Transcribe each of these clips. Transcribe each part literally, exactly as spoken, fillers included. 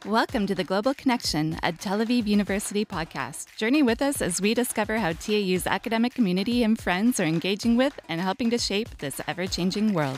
Welcome to the Global Connection, a Tel Aviv University podcast. Journey with us as we discover how T A U's academic community and friends are engaging with and helping to shape this ever-changing world.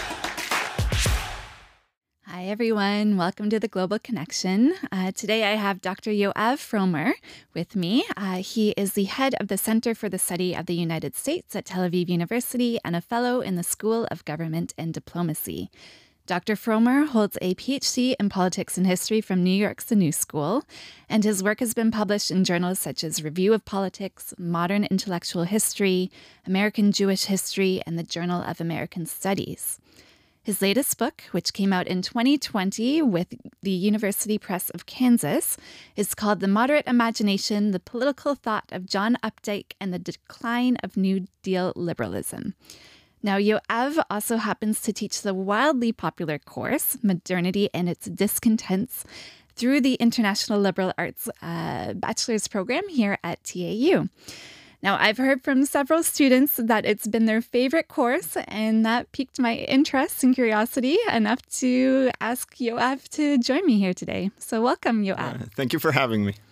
Hi, everyone. Welcome to the Global Connection. Uh, today, I have Doctor Yoav Fromer with me. Uh, he is the head of the Center for the Study of the United States at Tel Aviv University and a fellow in the School of Government and Diplomacy. Doctor Fromer holds a P H D in Politics and History from New York's The New School, and his work has been published in journals such as Review of Politics, Modern Intellectual History, American Jewish History, and the Journal of American Studies. His latest book, which came out in twenty twenty with the University Press of Kansas, is called The Moderate Imagination, The Political Thought of John Updike and the Decline of New Deal Liberalism. Now, Yoav also happens to teach the wildly popular course, Modernity and Its Discontents, through the International Liberal Arts uh, Bachelor's Program here at T A U. Now, I've heard from several students that it's been their favorite course, and that piqued my interest and curiosity enough to ask Yoav to join me here today. So welcome, Yoav. Uh, thank you for having me.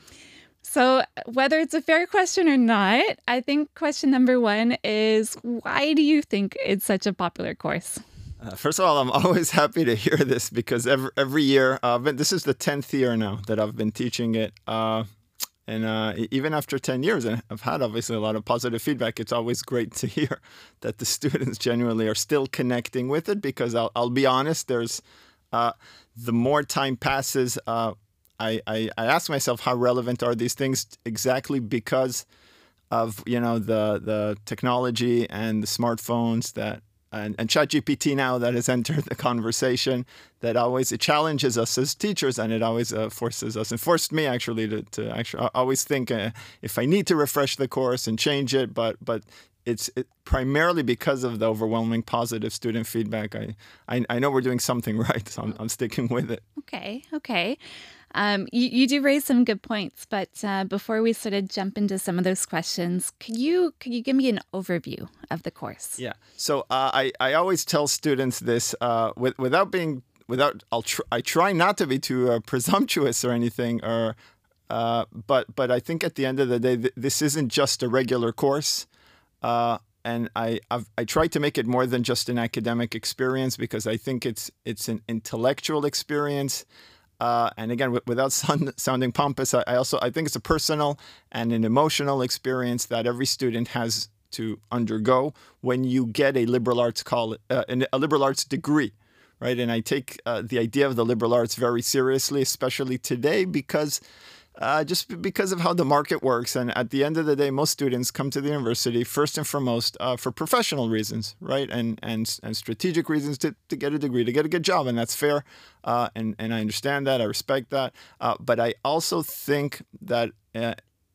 So whether it's a fair question or not, I think question number one is, why do you think it's such a popular course? Uh, first of all, I'm always happy to hear this because every, every year, uh, been, this is the tenth year now that I've been teaching it. Uh, and uh, even after ten years, and I've had obviously a lot of positive feedback, it's always great to hear that the students genuinely are still connecting with it because I'll, I'll be honest, there's uh, the more time passes, uh, I, I, I ask myself how relevant are these things exactly because of, you know, the the technology and the smartphones that and, and ChatGPT now that has entered the conversation that always it challenges us as teachers and it always uh, forces us and forced me actually to, to actually always think uh, if I need to refresh the course and change it, but but it's it, primarily because of the overwhelming positive student feedback. I, I, I know we're doing something right, so I'm, I'm sticking with it. Okay, okay. Um, you, you do raise some good points, but uh, before we sort of jump into some of those questions, could you could you give me an overview of the course? Yeah. So uh, I I always tell students this uh, with, without being without I'll tr- I try not to be too uh, presumptuous or anything, or uh, but but I think at the end of the day th- this isn't just a regular course. Uh, and I I've, I try to make it more than just an academic experience because I think it's it's an intellectual experience. Uh, and again, w- without sound, sounding pompous, I, I also I think it's a personal and an emotional experience that every student has to undergo when you get a liberal arts call uh, a liberal arts degree, right? And I take uh, the idea of the liberal arts very seriously, especially today, because uh, just because of how the market works. And at the end of the day, most students come to the university first and foremost uh, for professional reasons, right? And and and strategic reasons to, to get a degree, to get a good job. And that's fair. Uh, and, and I understand that. I respect that. Uh, but I also think that uh,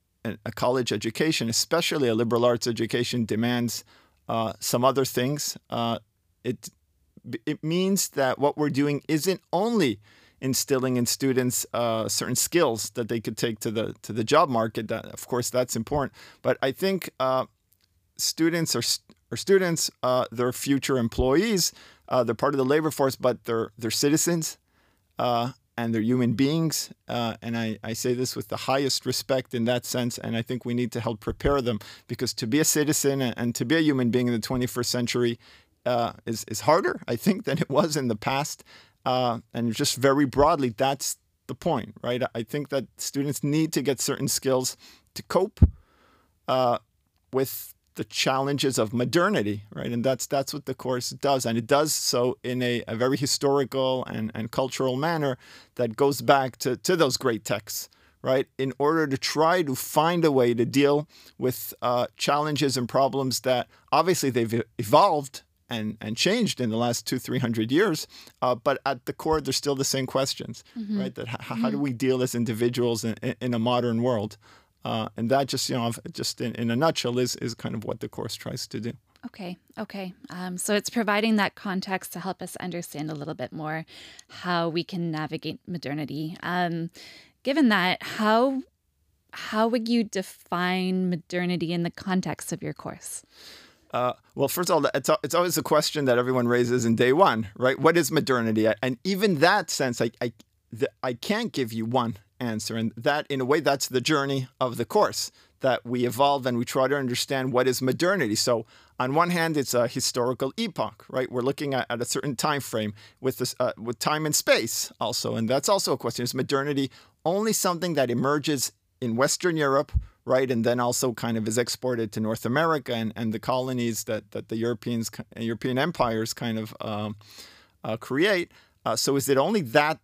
a college education, especially a liberal arts education, demands uh, some other things. Uh, it it means that what we're doing isn't only instilling in students uh, certain skills that they could take to the to the job market. That, of course, that's important. But I think uh, students are, are students. Uh, they're future employees. Uh, they're part of the labor force, but they're they're citizens uh, and they're human beings. Uh, and I, I say this with the highest respect in that sense. And I think we need to help prepare them because to be a citizen and, and to be a human being in the twenty-first century uh, is is harder, I think, than it was in the past. Uh, and just very broadly, that's the point, right? I think that students need to get certain skills to cope uh, with the challenges of modernity, right? And that's that's what the course does. And it does so in a, a very historical and, and cultural manner that goes back to, to those great texts, right? In order to try to find a way to deal with uh, challenges and problems that obviously they've evolved and and changed in the last two, three hundred years. Uh, but at the core, they're still the same questions, mm-hmm. right? That h- mm-hmm. How do we deal as individuals in, in a modern world? Uh, and that just, you know, just in, in a nutshell is, is kind of what the course tries to do. Okay. Okay. Um, so it's providing that context to help us understand a little bit more how we can navigate modernity. Um, given that, how how would you define modernity in the context of your course? Uh, well, first of all, it's, it's always a question that everyone raises in day one, right? What is modernity? And even that sense, I, I the, I can't give you one answer. And that, in a way, that's the journey of the course, that we evolve and we try to understand what is modernity. So on one hand, it's a historical epoch, right? We're looking at, at a certain time frame with this, uh, with time and space also. And that's also a question. Is modernity only something that emerges in Western Europe, right? And then also kind of is exported to North America and, and the colonies that, that the Europeans, European empires kind of um, uh, create. Uh, so is it only that,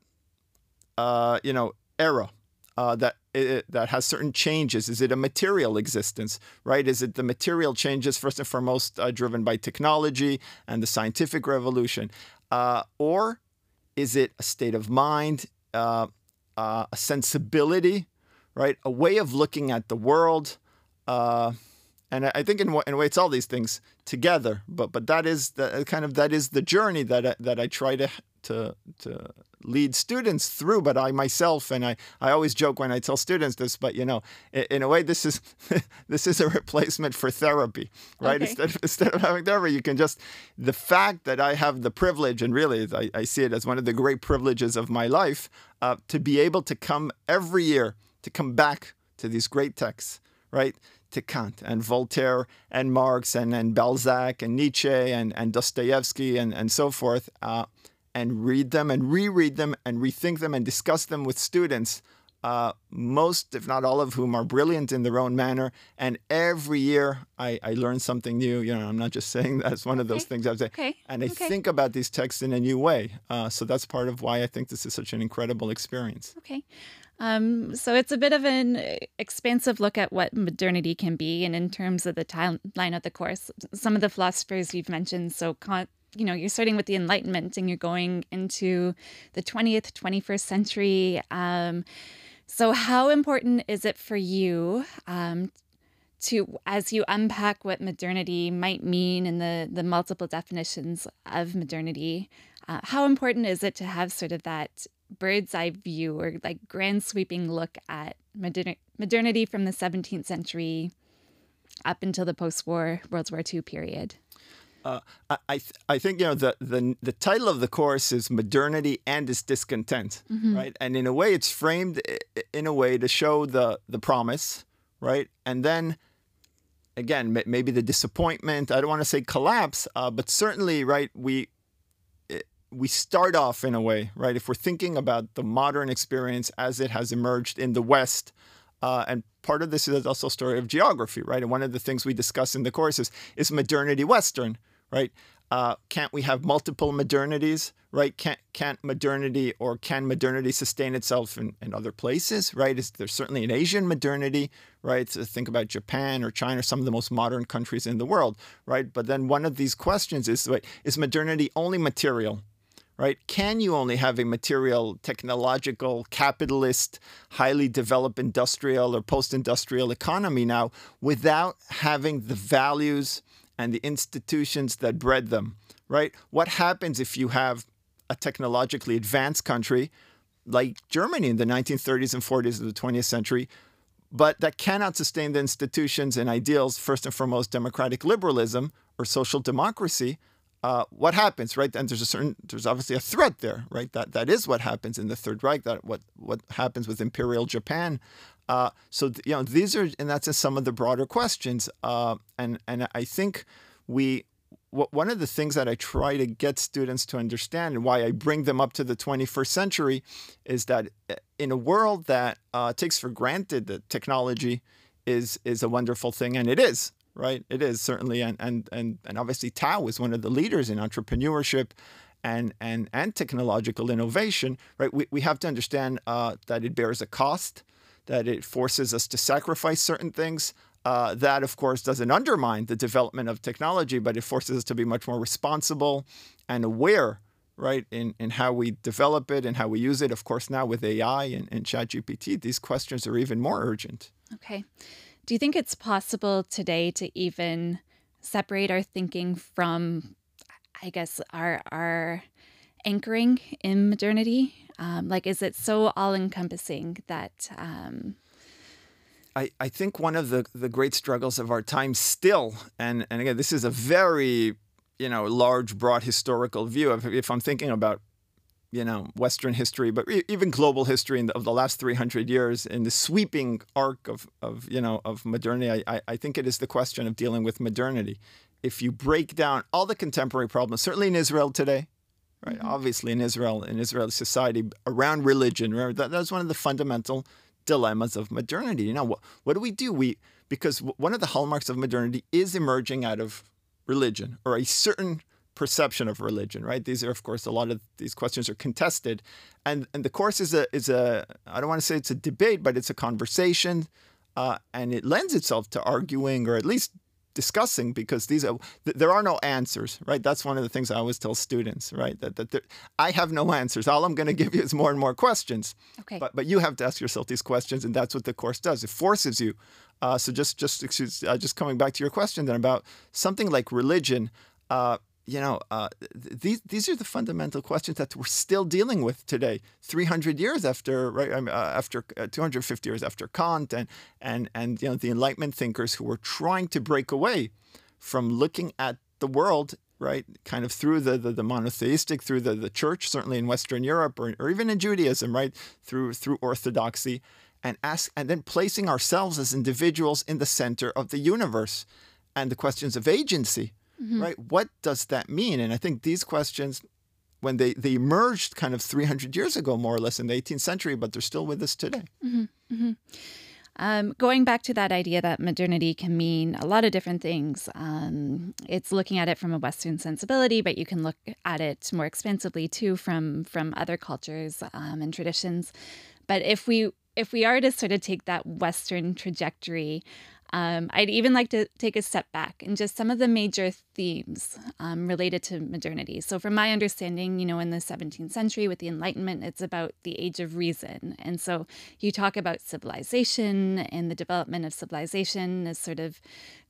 uh, you know, era uh, that it, that has certain changes? Is it a material existence, right? Is it the material changes first and foremost uh, driven by technology and the scientific revolution? Uh, or is it a state of mind, uh, uh, a sensibility, right? A way of looking at the world? Uh, and I think in, in a way it's all these things together, but but that is the kind of that is the journey that I, that I try to to to lead students through. But I myself, and I, I always joke when I tell students this, but you know, in, in a way this is this is a replacement for therapy, right? Okay. Instead of, instead of having therapy, you can just, the fact that I have the privilege, and really I, I see it as one of the great privileges of my life, uh, to be able to come every year, to come back to these great texts, right? To Kant and Voltaire and Marx and, and Balzac and Nietzsche and, and Dostoevsky and, and so forth, uh, and read them and reread them and rethink them and discuss them with students, uh, most, if not all of whom are brilliant in their own manner. And every year I, I learn something new. You know, I'm not just saying that. It's one of those Okay. things I would say. Okay. And I Okay. think about these texts in a new way. Uh, so that's part of why I think this is such an incredible experience. Okay. Um, so it's a bit of an expansive look at what modernity can be. And in terms of the timeline of the course, some of the philosophers you've mentioned, so Kant, you know, you're starting with the Enlightenment and you're going into the twentieth, twenty-first century. Um, so how important is it for you um, to, as you unpack what modernity might mean and the, the multiple definitions of modernity, uh, how important is it to have sort of that bird's eye view or like grand sweeping look at modern- modernity from the seventeenth century up until the post-war World War Two period? Uh, I I, th- I think you know the, the the title of the course is Modernity and Its Discontent, Mm-hmm. right? And in a way, it's framed i- in a way to show the the promise, right? And then again, m- maybe the disappointment. I don't want to say collapse, uh, but certainly, right? We i- we start off in a way, right? If we're thinking about the modern experience as it has emerged in the West. Uh, and part of this is also a story of geography, right? And one of the things we discuss in the course is, is modernity Western, right? Uh, can't we have multiple modernities, right? Can't, can't modernity or can modernity sustain itself in, in other places, right? Is there's certainly an Asian modernity, right? So think about Japan or China, some of the most modern countries in the world, right? But then one of these questions is, right, is modernity only material? Right? Can you only have a material, technological, capitalist, highly developed industrial or post-industrial economy now without having the values and the institutions that bred them, right? What happens if you have a technologically advanced country like Germany in the nineteen thirties and forties of the twentieth century, but that cannot sustain the institutions and ideals, first and foremost, democratic liberalism or social democracy? Uh, what happens, right? And there's a certain, there's obviously a threat there, right? That that is what happens in the Third Reich. That what what happens with Imperial Japan. Uh, so th- you know, these are, and that's some of the broader questions. Uh, and and I think we, w- one of the things that I try to get students to understand, and why I bring them up to the twenty-first century, is that in a world that uh, takes for granted that technology is is a wonderful thing, and it is. Right, it is certainly, and and and and obviously Tao is one of the leaders in entrepreneurship, and and and technological innovation. Right, we we have to understand uh, that it bears a cost, that it forces us to sacrifice certain things. Uh, that of course doesn't undermine the development of technology, but it forces us to be much more responsible and aware. Right, in in how we develop it and how we use it. Of course, now with A I and, and ChatGPT, these questions are even more urgent. Okay. Do you think it's possible today to even separate our thinking from, I guess, our our anchoring in modernity? Um, like, is it so all-encompassing that... Um... I, I think one of the, the great struggles of our time still, and, and again, this is a very, you know, large, broad historical view. Of, if I'm thinking about you know, Western history, but e- even global history in the, of the last three hundred years, in the sweeping arc of, of you know, of modernity, I, I think it is the question of dealing with modernity. If you break down all the contemporary problems, certainly in Israel today, right? Mm-hmm. Obviously in Israel, in Israeli society, around religion, right? that, that's one of the fundamental dilemmas of modernity. You know, what, what do we do? We Because one of the hallmarks of modernity is emerging out of religion, or a certain perception of religion, right? These are, of course, a lot of these questions are contested. And and the course is a, is a I don't want to say it's a debate, but it's a conversation. Uh, and it lends itself to arguing, or at least discussing, because these are, there are no answers, right? That's one of the things I always tell students, right? That, that there, I have no answers. All I'm going to give you is more and more questions. Okay. But but you have to ask yourself these questions, and that's what the course does. It forces you. Uh, so just just excuse, uh, just coming back to your question then about something like religion. Uh, you know, uh, th- these these are the fundamental questions that we're still dealing with today, three hundred years after, right? Uh, after uh, two hundred fifty years after Kant and and and you know the Enlightenment thinkers who were trying to break away from looking at the world, right, kind of through the the, the monotheistic, through the, the church, certainly in Western Europe, or, or even in Judaism, right, through through orthodoxy, and ask and then placing ourselves as individuals in the center of the universe, and the questions of agency. Mm-hmm. Right? What does that mean? And I think these questions, when they, they emerged kind of three hundred years ago, more or less in the eighteenth century, but they're still with us today. Mm-hmm. Mm-hmm. Um, going back to that idea that modernity can mean a lot of different things. Um, it's looking at it from a Western sensibility, but you can look at it more expansively too from from other cultures um, and traditions. But if we if we are to sort of take that Western trajectory, Um, I'd even like to take a step back and just some of the major themes um, related to modernity. So from my understanding, you know, in the seventeenth century with the Enlightenment, it's about the age of reason. And so you talk about civilization and the development of civilization as sort of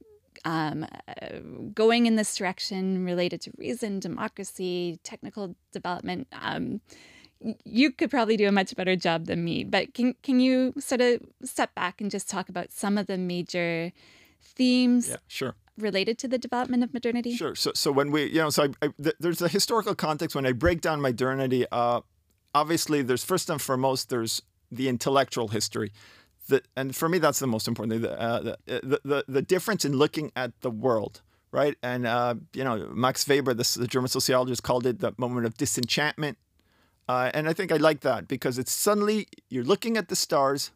um, uh, going in this direction related to reason, democracy, technical development. Um, You could probably do a much better job than me, but can can you sort of step back and just talk about some of the major themes yeah, sure. related to the development of modernity? Sure. So so when we, you know, so I, I, th- there's a historical context when I break down modernity. Uh, obviously, there's first and foremost, there's the intellectual history. The, and for me, that's the most important thing, the, uh, the, the, the, the difference in looking at the world, right? And, uh, you know, Max Weber, the, the German sociologist, called it the moment of disenchantment. Uh, and I think I like that because it's suddenly you're looking at the stars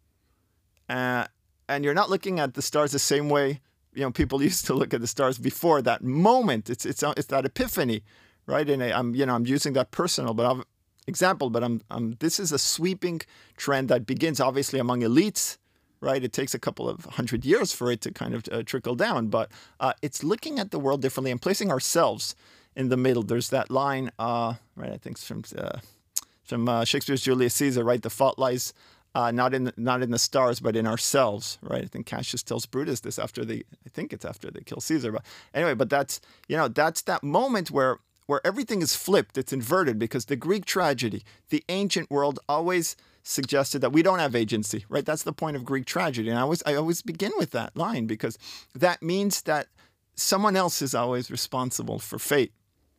uh, and you're not looking at the stars the same way, you know, people used to look at the stars before that moment. It's it's it's that epiphany, right? And I, I'm you know I'm using that personal but I've, example, but I'm, I'm this is a sweeping trend that begins obviously among elites, right? It takes a couple of hundred years for it to kind of uh, trickle down, but uh, it's looking at the world differently and placing ourselves in the middle. There's that line, uh, right? I think it's from uh, from uh, Shakespeare's Julius Caesar, right? The fault lies uh, not in the, not in the stars, but in ourselves, right? I think Cassius tells Brutus this after they, I think it's after they kill Caesar, but anyway, but that's you know that's that moment where where everything is flipped, it's inverted, because the Greek tragedy, the ancient world, always suggested that we don't have agency, right? That's the point of Greek tragedy, and I always I always begin with that line because that means that someone else is always responsible for fate,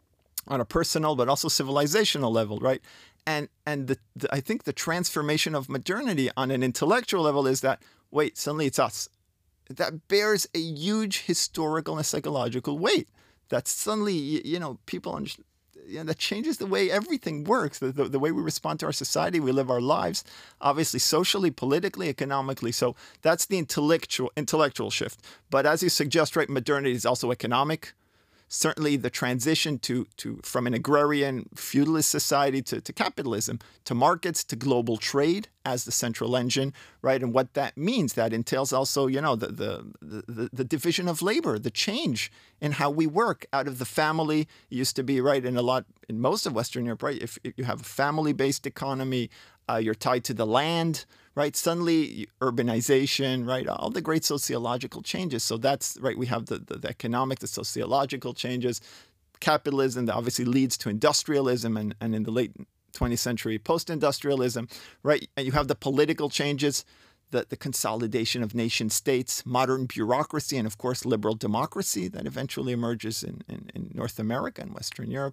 on a personal but also civilizational level, right? And and the, the, I think the transformation of modernity on an intellectual level is that, wait, suddenly it's us. That bears a huge historical and psychological weight. That suddenly, you, you know, people understand, you know, that changes the way everything works, the, the, the way we respond to our society, we live our lives, obviously socially, politically, economically. So that's the intellectual intellectual shift. But as you suggest, right, modernity is also economic. Certainly the transition to, to from an agrarian feudalist society to, to capitalism, to markets, to global trade as the central engine, right? And what that means, that entails also, you know, the the the, the division of labor, the change in how we work out of the family. It used to be, right, in a lot, in most of Western Europe, right, if, if you have a family-based economy, uh, you're tied to the land, right? Suddenly, urbanization, right? All the great sociological changes. So that's, right, we have the, the, the economic, the sociological changes. Capitalism that obviously leads to industrialism, and, and in the late twentieth century, post-industrialism, right? And you have the political changes, the, the consolidation of nation states, modern bureaucracy, and of course, liberal democracy that eventually emerges in, in, in North America and Western Europe.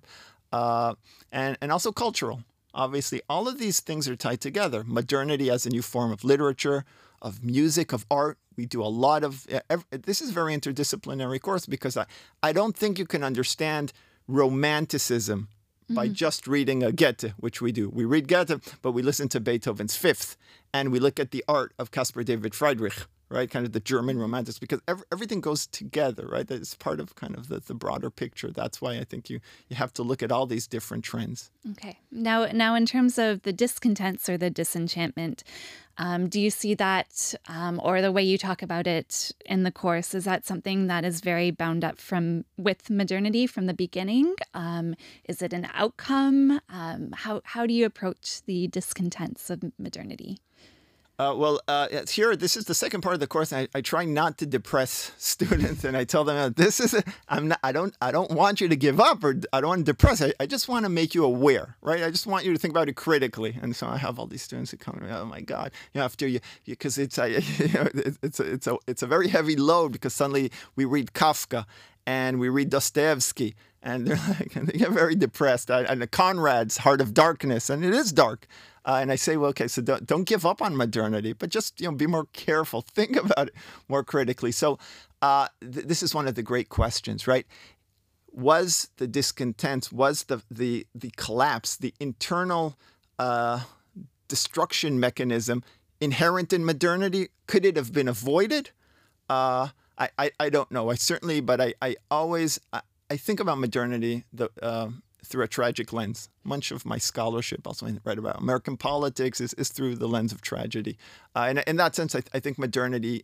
uh, and, and also cultural. Obviously, all of these things are tied together. Modernity as a new form of literature, of music, of art. We do a lot of, every, this is a very interdisciplinary course because I, I don't think you can understand romanticism by mm-hmm. just reading a Goethe, which we do. We read Goethe, but we listen to Beethoven's Fifth, and we look at the art of Caspar David Friedrich, right? Kind of the German romantics, because every, everything goes together, right? It's part of kind of the, the broader picture. That's why I think you, you have to look at all these different trends. Okay. Now, now in terms of the discontents or the disenchantment, um, do you see that, um, or the way you talk about it in the course, is that something that is very bound up from with modernity from the beginning? Um, is it an outcome? Um, how how do you approach the discontents of modernity? Uh, well, uh, here, this is the second part of the course. I, I try not to depress students, and I tell them, "This is, a, I'm not, I don't, I don't want you to give up, or I don't want to depress. I, I just want to make you aware, right? I just want you to think about it critically." And so I have all these students who come to me, "Oh my God, you know, after you, because it's, I, you know, it's, a, it's a, it's a very heavy load because suddenly we read Kafka and we read Dostoevsky." And they're like, and they get very depressed. And the Conrad's Heart of Darkness, and it is dark. Uh, and I say, well, okay, so don't, don't give up on modernity, but just, you know, be more careful. Think about it more critically. So uh, th- this is one of the great questions, right? Was the discontent, was the the the collapse, the internal uh, destruction mechanism inherent in modernity? Could it have been avoided? Uh, I, I I don't know. I certainly, but I I always. I, I think about modernity the, uh, through a tragic lens. Much of my scholarship, also I write about American politics, is, is through the lens of tragedy. Uh, and in that sense, I, th- I think modernity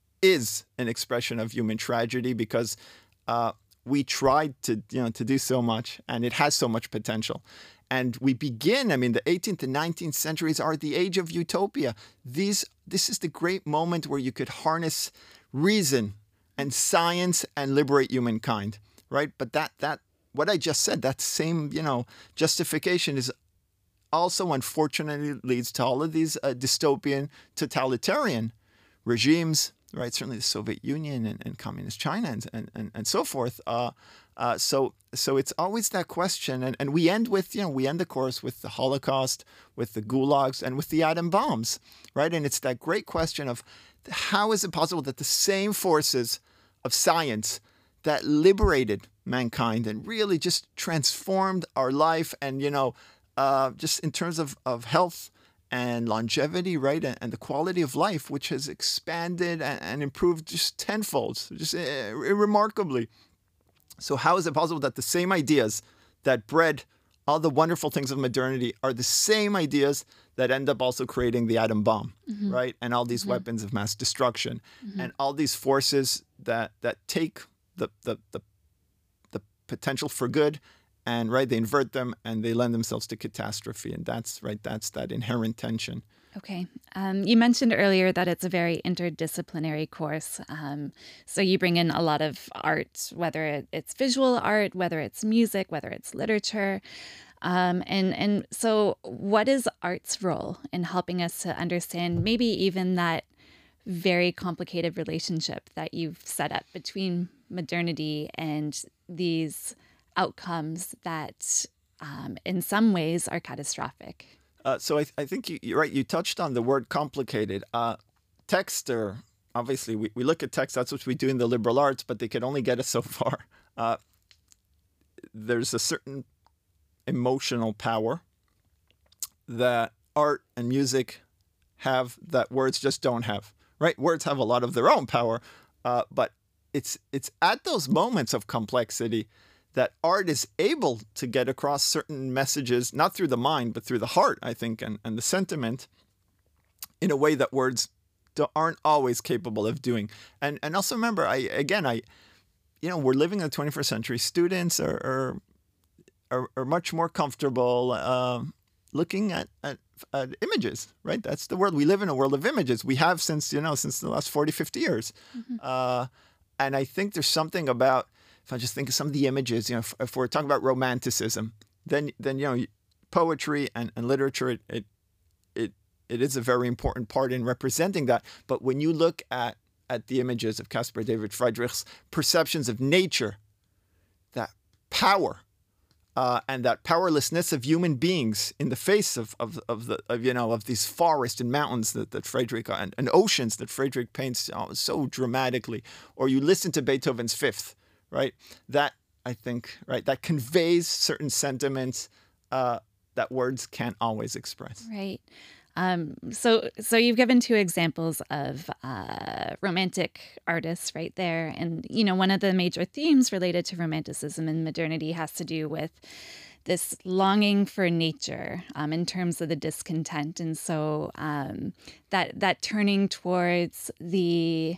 is an expression of human tragedy because uh, we tried to, you know, to do so much, and it has so much potential. And we begin, I mean, the eighteenth and nineteenth centuries are the age of utopia. These, this is the great moment where you could harness reason and science and liberate humankind. Right, but that that what I just said, that same you know justification is also unfortunately leads to all of these uh, dystopian, totalitarian regimes. Right, certainly the Soviet Union and, and communist China and and, and, and so forth. Uh, uh, so so it's always that question, and, and we end with you know we end the course with the Holocaust, with the gulags, and with the atom bombs. Right, and it's that great question of how is it possible that the same forces of science that liberated mankind and really just transformed our life and, you know, uh, just in terms of, of health and longevity, right, and, and the quality of life, which has expanded and, and improved just tenfold, just uh, remarkably. So how is it possible that the same ideas that bred all the wonderful things of modernity are the same ideas that end up also creating the atom bomb, mm-hmm. right, and all these mm-hmm. weapons of mass destruction, mm-hmm. and all these forces that that take The, the the the potential for good, and right they invert them and they lend themselves to catastrophe, and that's right that's that inherent tension. Okay, um, you mentioned earlier that it's a very interdisciplinary course, um, so you bring in a lot of art, whether it's visual art, whether it's music, whether it's literature, um, and and so what is art's role in helping us to understand maybe even that very complicated relationship that you've set up between modernity and these outcomes that um, in some ways are catastrophic? Uh, so I, th- I think you, you're right. You touched on the word complicated. Uh, text, or obviously we, we look at text, that's what we do in the liberal arts, but they can only get us so far. Uh, there's a certain emotional power that art and music have that words just don't have. Right? Words have a lot of their own power, uh, but it's it's at those moments of complexity that art is able to get across certain messages, not through the mind, but through the heart, I think, and, and the sentiment, in a way that words do, aren't always capable of doing. And and also remember, I again, I, you know, we're living in the twenty-first century. Students are are are, are much more comfortable uh, looking at, at Uh, images, right? That's the world. We live in a world of images. We have since, you know, since the last forty, fifty years. Mm-hmm. Uh, and I think there's something about, if I just think of some of the images, you know, if, if we're talking about romanticism, then, then you know, poetry and, and literature, it, it, it, it is a very important part in representing that. But when you look at, at the images of Caspar David Friedrich's perceptions of nature, that power uh, and that powerlessness of human beings in the face of of, of the of, you know of these forests and mountains that, that Friedrich and, and oceans that Friedrich paints oh, so dramatically. Or you listen to Beethoven's Fifth, right? That I think right that conveys certain sentiments uh, that words can't always express. Right. Um, so, so you've given two examples of uh, romantic artists right there, and you know one of the major themes related to Romanticism and modernity has to do with this longing for nature um, in terms of the discontent, and so um, that that turning towards the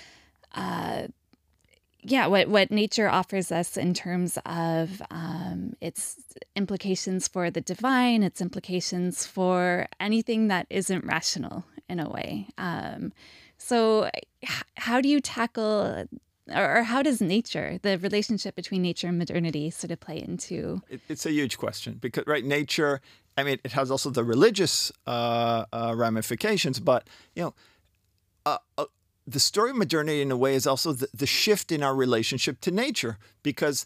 uh, yeah, what, what nature offers us in terms of um, its implications for the divine, its implications for anything that isn't rational in a way. Um, so h- how do you tackle, or, or how does nature, the relationship between nature and modernity sort of play into? It, it's a huge question because, right, nature, I mean, it has also the religious uh, uh, ramifications, but, you know, uh, uh, the story of modernity, in a way, is also the, the shift in our relationship to nature, because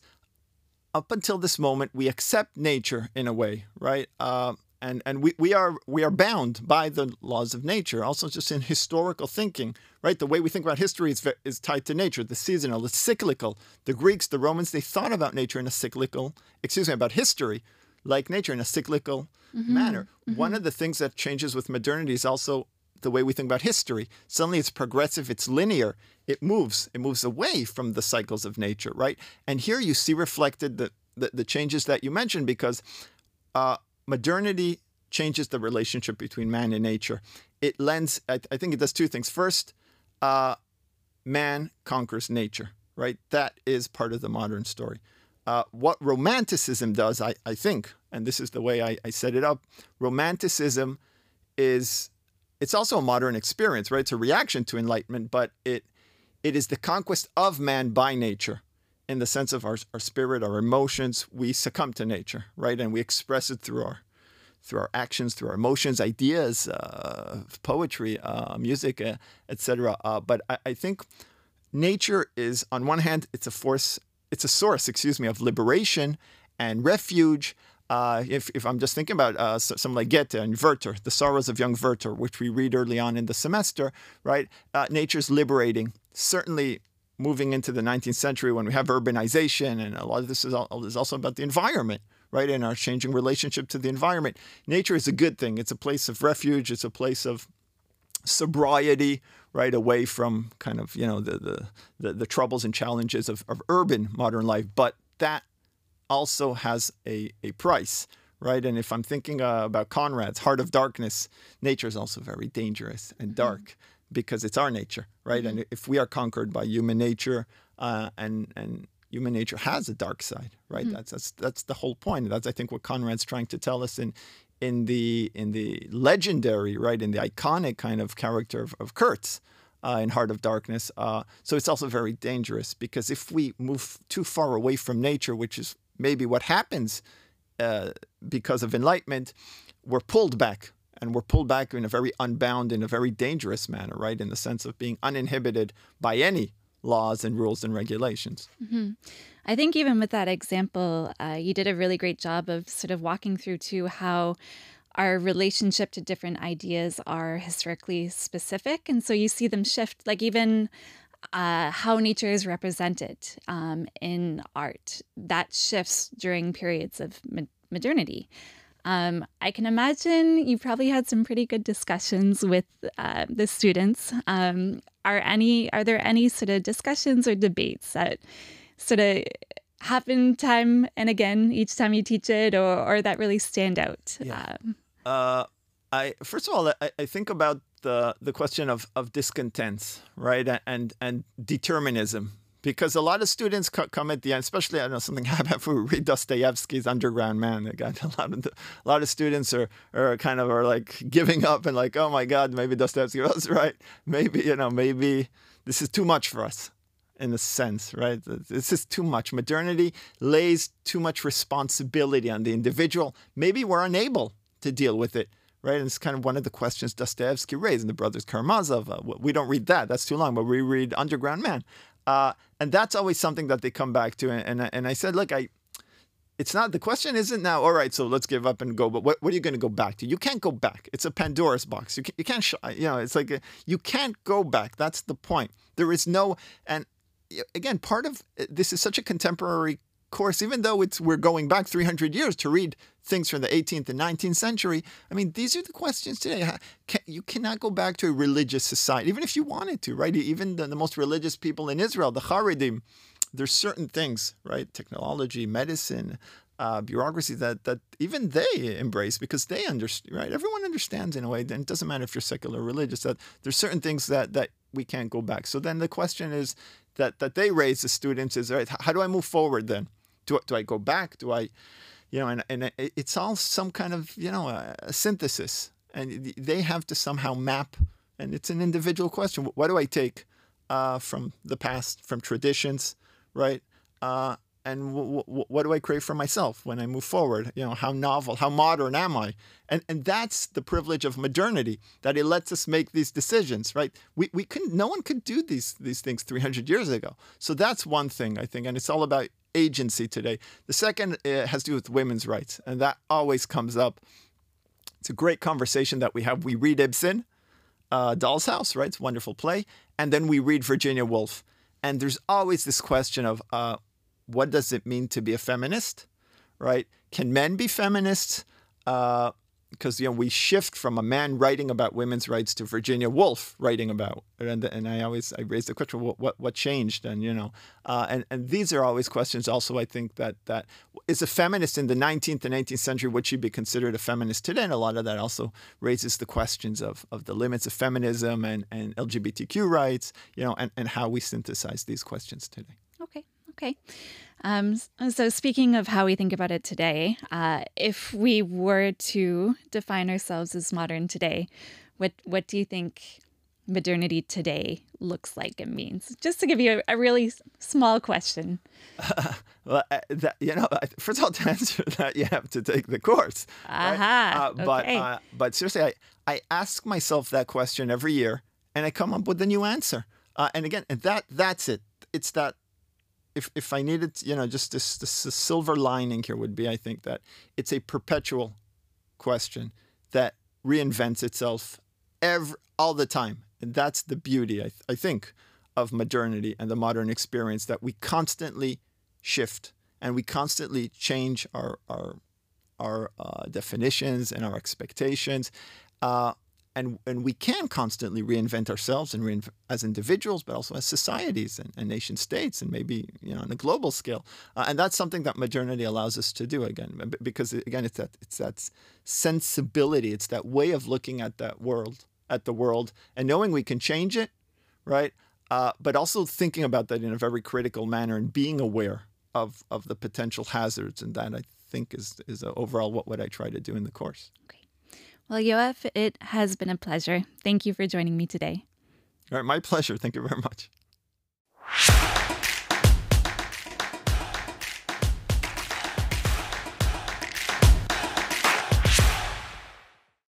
up until this moment, we accept nature in a way, right? Uh, and and we, we are we are bound by the laws of nature. Also, just in historical thinking, right? The way we think about history is is tied to nature, the seasonal, the cyclical. The Greeks, the Romans, they thought about nature in a cyclical, excuse me, about history, like nature in a cyclical mm-hmm. manner. Mm-hmm. One of the things that changes with modernity is also the way we think about history. Suddenly it's progressive, it's linear, it moves, it moves away from the cycles of nature, right? And here you see reflected the, the, the changes that you mentioned, because uh, modernity changes the relationship between man and nature. It lends, I, I think it does two things. First, uh, man conquers nature, right? That is part of the modern story. Uh, what Romanticism does, I, I think, and this is the way I, I set it up, Romanticism is... It's also a modern experience, right? It's a reaction to Enlightenment, but it it is the conquest of man by nature, in the sense of our, our spirit, our emotions. We succumb to nature, right? And we express it through our through our actions, through our emotions, ideas, uh, poetry, uh, music, uh, et cetera. Uh, but I, I think nature is, on one hand, it's a force, it's a source, excuse me, of liberation and refuge. Uh, if, if I'm just thinking about uh, some like Goethe and Werther, The Sorrows of Young Werther, which we read early on in the semester, right? Uh, nature's liberating. Certainly moving into the nineteenth century, when we have urbanization, and a lot of this is, all, is also about the environment, right? And our changing relationship to the environment. Nature is a good thing. It's a place of refuge. It's a place of sobriety, right? Away from kind of, you know, the the, the, the troubles and challenges of, of urban modern life. But that also has a, a price, right? And if I'm thinking uh, about Conrad's Heart of Darkness, nature is also very dangerous and dark mm-hmm. because it's our nature, right? Mm-hmm. And if we are conquered by human nature, uh, and and human nature has a dark side, right? Mm-hmm. That's that's that's the whole point. That's, I think, what Conrad's trying to tell us in in the in the legendary, right, in the iconic kind of character of, of Kurtz. Uh, in Heart of Darkness. Uh, so it's also very dangerous, because if we move too far away from nature, which is maybe what happens uh, because of Enlightenment, we're pulled back, and we're pulled back in a very unbound, in a very dangerous manner, right? In the sense of being uninhibited by any laws and rules and regulations. Mm-hmm. I think even with that example, uh, you did a really great job of sort of walking through too how our relationship to different ideas are historically specific. And so you see them shift, like even uh, how nature is represented um, in art, that shifts during periods of mo- modernity. Um, I can imagine you probably had some pretty good discussions with uh, the students. Um, are any are there any sort of discussions or debates that sort of happen time and again each time you teach it, or, or that really stand out? Yeah. Um, Uh, I first of all, I, I think about the the question of of discontents, right, and and determinism, because a lot of students co- come at the end, especially I don't know something happened after we read Dostoevsky's Underground Man. They got a lot of the, a lot of students are are kind of are like giving up and like, oh my God, maybe Dostoevsky was right. Maybe you know maybe this is too much for us. In a sense, right? This is too much. Modernity lays too much responsibility on the individual. Maybe we're unable to deal with it, right? And it's kind of one of the questions Dostoevsky raised in The Brothers Karamazov. Uh, we don't read that. That's too long, but we read Underground Man. Uh, and that's always something that they come back to. And, and, and I said, look, I it's not, the question isn't now, all right, so let's give up and go, but what, what are you going to go back to? You can't go back. It's a Pandora's box. You can't, you can't, sh- you know, it's like, a, you can't go back. That's the point. There is no, and again, part of this is such a contemporary course, even though it's we're going back three hundred years to read things from the eighteenth and nineteenth century. I mean, these are the questions today. Can, you cannot go back to a religious society, even if you wanted to, right? Even the, the most religious people in Israel, the Haredim, there's certain things, right? Technology, medicine, uh, bureaucracy that that even they embrace because they understand, right? Everyone understands in a way, and it doesn't matter if you're secular or religious, that there's certain things that that we can't go back. So then the question is that that they raise the students is, right, how do I move forward then? Do, do I go back? Do I, you know, and, and it's all some kind of, you know, a, a synthesis. And they have to somehow map, and it's an individual question. What do I take uh, from the past, from traditions, right? Uh, and w- w- what do I crave for myself when I move forward? You know, how novel, how modern am I? And and that's the privilege of modernity, that it lets us make these decisions, right? We we couldn't, no one could do these these things three hundred years ago. So that's one thing, I think, and it's all about agency today. The second uh, has to do with women's rights, and that always comes up. It's a great conversation that we have. We read Ibsen, uh, Doll's House, right? It's a wonderful play. And then we read Virginia Woolf. And there's always this question of uh, what does it mean to be a feminist, right? Can men be feminists? Uh, because, you know, we shift from a man writing about women's rights to Virginia Woolf writing about, and and I always, I raise the question, what what, what changed? And, you know, uh, and, and these are always questions also, I think, that, that is a feminist in the nineteenth and eighteenth century, would she be considered a feminist today? And a lot of that also raises the questions of, of the limits of feminism and, and L G B T Q rights, you know, and, and how we synthesize these questions today. Okay, okay. Um, so speaking of how we think about it today, uh, if we were to define ourselves as modern today, what what do you think modernity today looks like and means? Just to give you a, a really small question. Uh, well, uh, that, you know, first of all, to answer that, you have to take the course. Aha, right? uh, but okay. uh, but seriously, I, I ask myself that question every year, and I come up with a new answer. Uh, and again, and that that's it. It's that. If if I needed, you know, just this, this, this silver lining here would be, I think, that it's a perpetual question that reinvents itself every, all the time. And that's the beauty, I, th- I think, of modernity and the modern experience, that we constantly shift and we constantly change our our, our uh, definitions and our expectations. Uh, And, and we can constantly reinvent ourselves and reinvent as individuals, but also as societies and, and nation states, and maybe, you know, on a global scale. Uh, and that's something that modernity allows us to do, again, because again, it's that it's that sensibility, it's that way of looking at that world, at the world, and knowing we can change it, right? Uh, but also thinking about that in a very critical manner and being aware of of the potential hazards, and that I think is is uh, overall what, what I try to do in the course. Okay. Well, Yoav, it has been a pleasure. Thank you for joining me today. All right, my pleasure. Thank you very much.